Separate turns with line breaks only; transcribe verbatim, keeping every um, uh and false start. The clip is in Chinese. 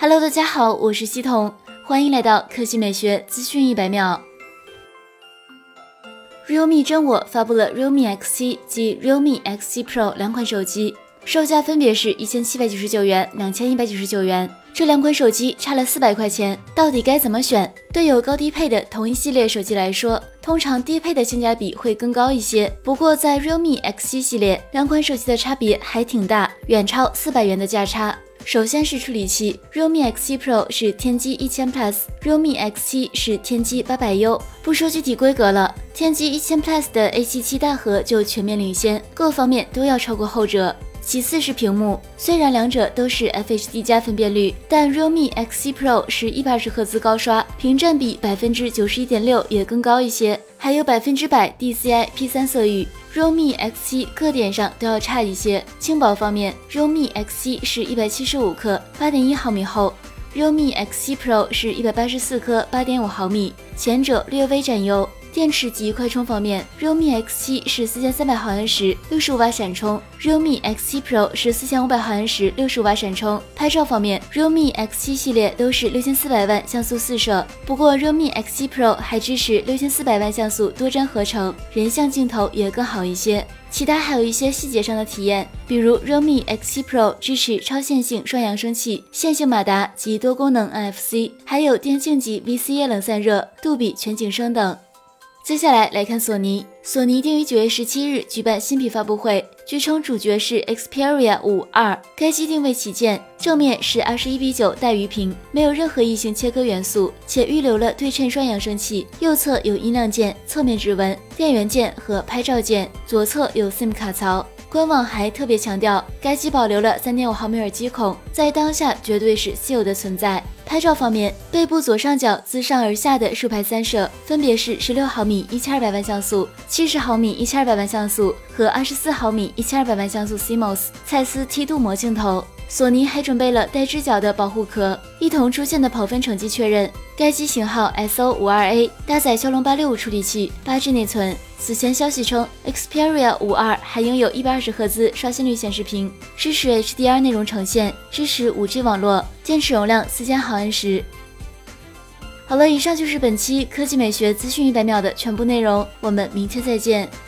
Hello， 大家好，我是西彤，欢迎来到科技美学资讯一百秒。realme 真我发布了 realme X 七 及 realme X 七 Pro 两款手机，售价分别是一千七百九十九元、两千一百九十九元。这两款手机差了四百块钱，到底该怎么选？对有高低配的同一系列手机来说，通常低配的性价比会更高一些。不过在 realme X 七 系列，两款手机的差别还挺大，远超四百元的价差。首先是处理器 ，realme X 七 Pro 是天玑一千 Plus，realme X 七 是天玑八百 U。不说具体规格了，天玑一千 Plus 的 A 七七大核就全面领先，各方面都要超过后者。其次是屏幕，虽然两者都是 F H D 加分辨率，但 realme X 七 Pro 是一百二十赫兹高刷，屏占比 百分之九十一点六 也更高一些，还有百分之百 D C I P 三 色域。realme X 七 各点上都要差一些。轻薄方面 ，realme X 七 是一百七十五克， 八点一毫米厚。realme X 七 Pro 是一百八十四克， 八点五毫米，前者略微占优。电池及快充方面 ，realme X 七 是四千三百毫安时， 六十五瓦闪充 ；realme X 七 Pro 是四千五百毫安时， 六十五瓦闪充。拍照方面 ，realme X 七 系列都是六千四百万像素四摄，不过 realme X 七 Pro 还支持六千四百万像素多帧合成，人像镜头也更好一些。其他还有一些细节上的体验，比如 realme X 七 Pro 支持超线性双扬声器、线性马达及多功能 N F C， 还有电竞级 V C A 冷散热、杜比全景声等。接下来来看索尼，索尼定于九月十七日举办新品发布会，据称主角是 Xperia 五 二， 该机定位旗舰，正面是二十一比九带鱼屏，没有任何异形切割元素，且预留了对称双扬声器，右侧有音量键、侧面指纹、电源键和拍照键，左侧有 SIM 卡槽。官网还特别强调，该机保留了 三点五毫米耳机孔，在当下绝对是稀有的存在。拍照方面，背部左上角自上而下的竖排三摄，分别是十六毫米一千二百万像素、七十毫米一千二百万像素和二十四毫米一千二百万像素 C M O S 蔡司梯镀膜镜头。索尼还准备了带支脚的保护壳。一同出现的跑分成绩确认，该机型号 S O 五二 A， 搭载骁龙八六五处理器，八 G 内存。此前消息称 ，Xperia 五 二还拥有一百二十赫兹刷新率显示屏，支持 H D R 内容呈现，支持 五 G 网络，电池容量四千毫安时。好了，以上就是本期科技美学资讯一百秒的全部内容，我们明天再见。